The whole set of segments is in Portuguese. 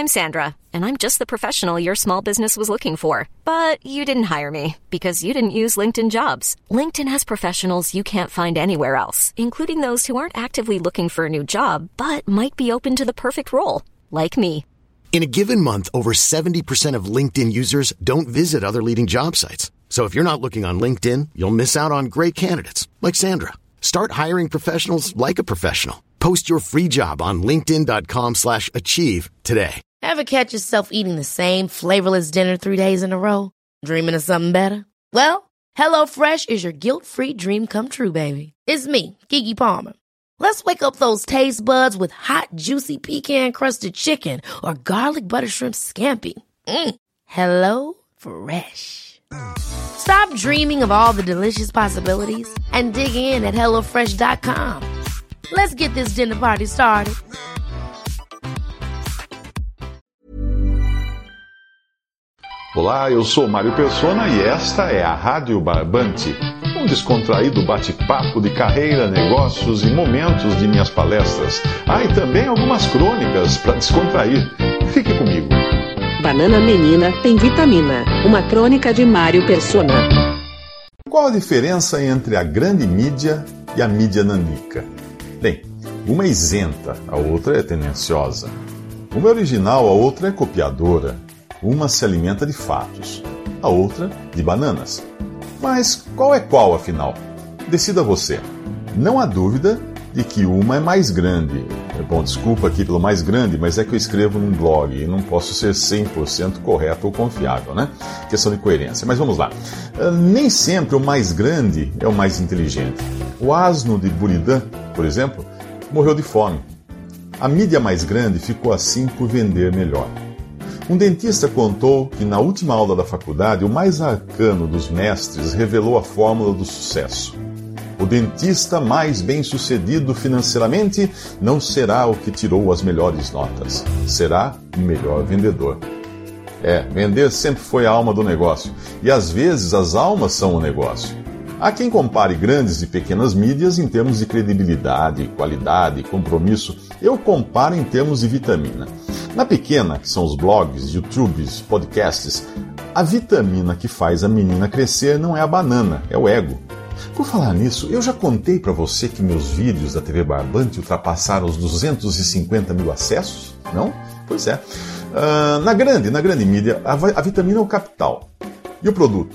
I'm Sandra, and I'm just the professional your small business was looking for. But you didn't hire me because you didn't use LinkedIn Jobs. LinkedIn has professionals you can't find anywhere else, including those who aren't actively looking for a new job, but might be open to the perfect role, like me. In a given month, over 70% of LinkedIn users don't visit other leading job sites. So if you're not looking on LinkedIn, you'll miss out on great candidates like Sandra. Start hiring professionals like a professional. Post your free job on linkedin.com/achieve today. Ever catch yourself eating the same flavorless dinner 3 days in a row? Dreaming of something better? Well, HelloFresh is your guilt-free dream come true, baby. It's me, Keke Palmer. Let's wake up those taste buds with hot, juicy pecan-crusted chicken or garlic butter shrimp scampi. Hello Fresh. Stop dreaming of all the delicious possibilities and dig in at HelloFresh.com. Let's get this dinner party started. Olá, eu sou Mário Persona e esta é a Rádio Barbante, um descontraído bate-papo de carreira, negócios e momentos de minhas palestras. E também algumas crônicas para descontrair. Fique comigo. Banana Menina tem vitamina. Uma crônica de Mário Persona. Qual a diferença entre a grande mídia e a mídia nanica? Bem, uma é isenta, a outra é tendenciosa. Uma é original, a outra é copiadora. Uma se alimenta de fatos, a outra de bananas. Mas qual é qual, afinal? Decida você. Não há dúvida de que uma é mais grande. Bom, desculpa aqui pelo mais grande, mas é que eu escrevo num blog e não posso ser 100% correto ou confiável, né? Questão de coerência. Mas vamos lá. Nem sempre o mais grande é o mais inteligente. O asno de Buridan, por exemplo, morreu de fome. A mídia mais grande ficou assim por vender melhor. Um dentista contou que na última aula da faculdade, o mais arcano dos mestres revelou a fórmula do sucesso. O dentista mais bem-sucedido financeiramente não será o que tirou as melhores notas, será o melhor vendedor. Vender sempre foi a alma do negócio, e às vezes as almas são o negócio. Há quem compare grandes e pequenas mídias em termos de credibilidade, qualidade, compromisso. Eu comparo em termos de vitamina. Na pequena, que são os blogs, YouTubes, podcasts, a vitamina que faz a menina crescer não é a banana, é o ego. Por falar nisso, eu já contei para você que meus vídeos da TV Barbante ultrapassaram os 250 mil acessos? Não? Pois é. Na grande mídia, a vitamina é o capital. E o produto?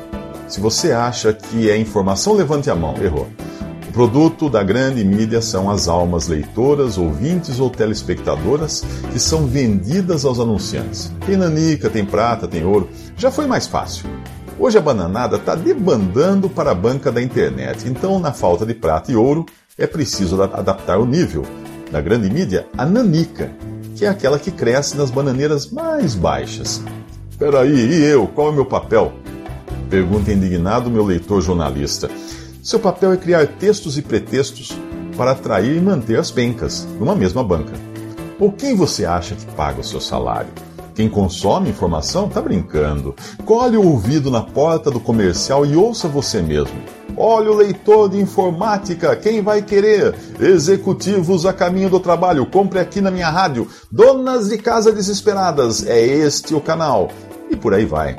Se você acha que é informação, levante a mão. Errou. O produto da grande mídia são as almas leitoras, ouvintes ou telespectadoras que são vendidas aos anunciantes. Tem nanica, tem prata, tem ouro. Já foi mais fácil. Hoje a bananada está debandando para a banca da internet. Então, na falta de prata e ouro, é preciso adaptar o nível. Na grande mídia, a nanica, que é aquela que cresce nas bananeiras mais baixas. Peraí, e eu? Qual é o meu papel? Pergunta indignado meu leitor jornalista. Seu papel é criar textos e pretextos para atrair e manter as pencas numa mesma banca. Ou quem você acha que paga o seu salário? Quem consome informação está brincando. Colhe o ouvido na porta do comercial e ouça você mesmo. Olha o leitor de informática, quem vai querer? Executivos a caminho do trabalho, compre aqui na minha rádio. Donas de casa desesperadas, é este o canal. E por aí vai.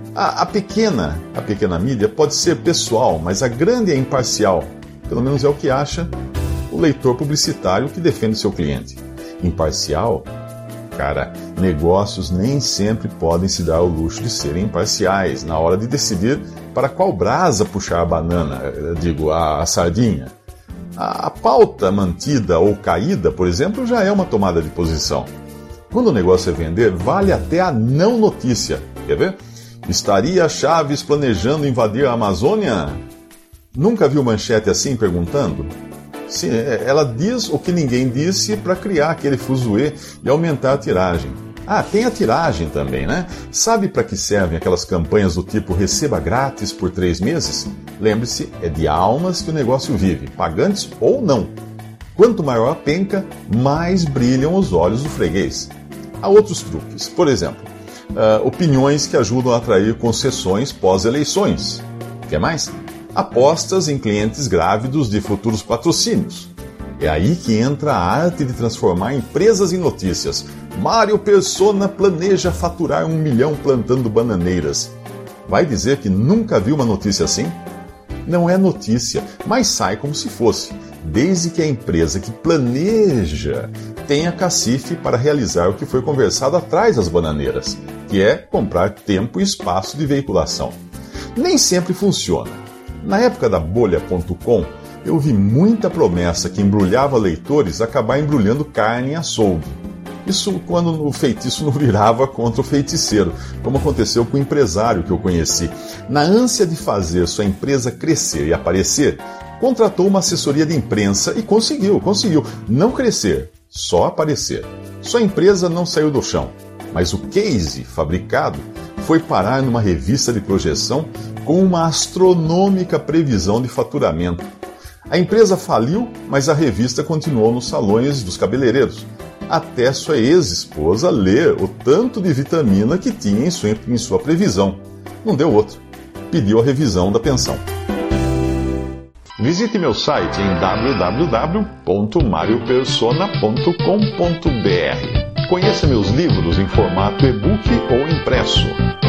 A pequena mídia pode ser pessoal, mas a grande é imparcial. Pelo menos é o que acha o leitor publicitário que defende seu cliente. Imparcial? Cara, negócios nem sempre podem se dar o luxo de serem imparciais na hora de decidir para qual brasa puxar a banana, a sardinha. A pauta mantida ou caída, por exemplo, já é uma tomada de posição. Quando o negócio é vender, vale até a não notícia. Quer ver? Estaria Chaves planejando invadir a Amazônia? Nunca viu manchete assim perguntando? Sim, ela diz o que ninguém disse para criar aquele fuzuê e aumentar a tiragem. Tem a tiragem também, né? Sabe para que servem aquelas campanhas do tipo receba grátis por 3 meses? Lembre-se, é de almas que o negócio vive, pagantes ou não. Quanto maior a penca, mais brilham os olhos do freguês. Há outros truques. Por exemplo, opiniões que ajudam a atrair concessões pós-eleições. Quer mais? Apostas em clientes grávidos de futuros patrocínios. É aí que entra a arte de transformar empresas em notícias. Mário Persona planeja faturar 1 milhão plantando bananeiras. Vai dizer que nunca viu uma notícia assim? Não é notícia, mas sai como se fosse, desde que a empresa que planeja tenha cacife para realizar o que foi conversado atrás das bananeiras, que é comprar tempo e espaço de veiculação. Nem sempre funciona. Na época da bolha.com, eu vi muita promessa que embrulhava leitores acabar embrulhando carne em açougue. Isso quando o feitiço não virava contra o feiticeiro, como aconteceu com o empresário que eu conheci. Na ânsia de fazer sua empresa crescer e aparecer, contratou uma assessoria de imprensa e conseguiu não crescer, só aparecer. Sua empresa não saiu do chão, mas o case fabricado foi parar numa revista de projeção com uma astronômica previsão de faturamento. A empresa faliu, mas a revista continuou nos salões dos cabeleireiros, até sua ex-esposa ler o tanto de vitamina que tinha em sua previsão. Não deu outra. Pediu a revisão da pensão. Visite meu site em www.mariopersona.com.br. Conheça meus livros em formato e-book ou impresso.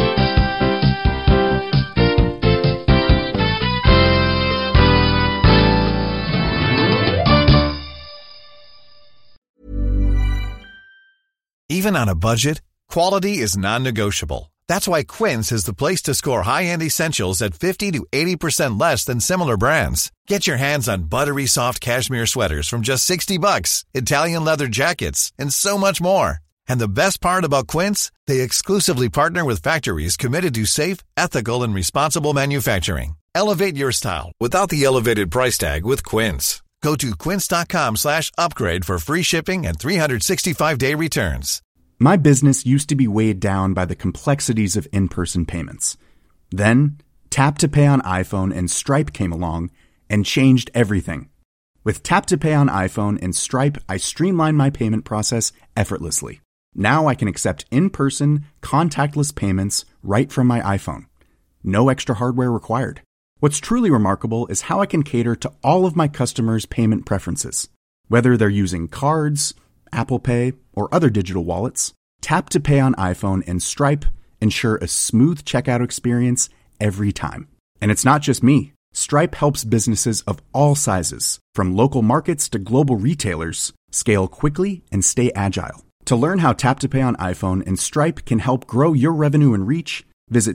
Even on a budget, quality is non-negotiable. That's why Quince is the place to score high-end essentials at 50 to 80% less than similar brands. Get your hands on buttery soft cashmere sweaters from just $60, Italian leather jackets, and so much more. And the best part about Quince, they exclusively partner with factories committed to safe, ethical, and responsible manufacturing. Elevate your style without the elevated price tag with Quince. Go to quince.com/upgrade for free shipping and 365-day returns. My business used to be weighed down by the complexities of in-person payments. Then, Tap to Pay on iPhone and Stripe came along and changed everything. With Tap to Pay on iPhone and Stripe, I streamlined my payment process effortlessly. Now I can accept in-person, contactless payments right from my iPhone. No extra hardware required. What's truly remarkable is how I can cater to all of my customers' payment preferences. Whether they're using cards, Apple Pay, or other digital wallets, Tap to Pay on iPhone and Stripe ensure a smooth checkout experience every time. And it's not just me. Stripe helps businesses of all sizes, from local markets to global retailers, scale quickly and stay agile. To learn how Tap to Pay on iPhone and Stripe can help grow your revenue and reach, visit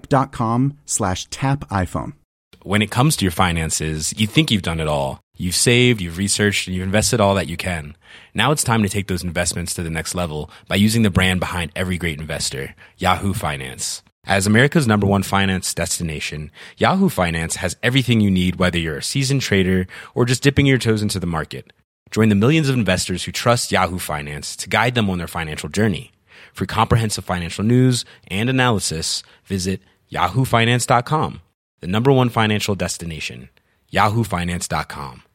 stripe.com/tapiphone. When it comes to your finances, you think you've done it all. You've saved, you've researched, and you've invested all that you can. Now it's time to take those investments to the next level by using the brand behind every great investor, Yahoo Finance. As America's #1 finance destination, Yahoo Finance has everything you need, whether you're a seasoned trader or just dipping your toes into the market. Join the millions of investors who trust Yahoo Finance to guide them on their financial journey. For comprehensive financial news and analysis, visit yahoofinance.com. The #1 financial destination, yahoofinance.com.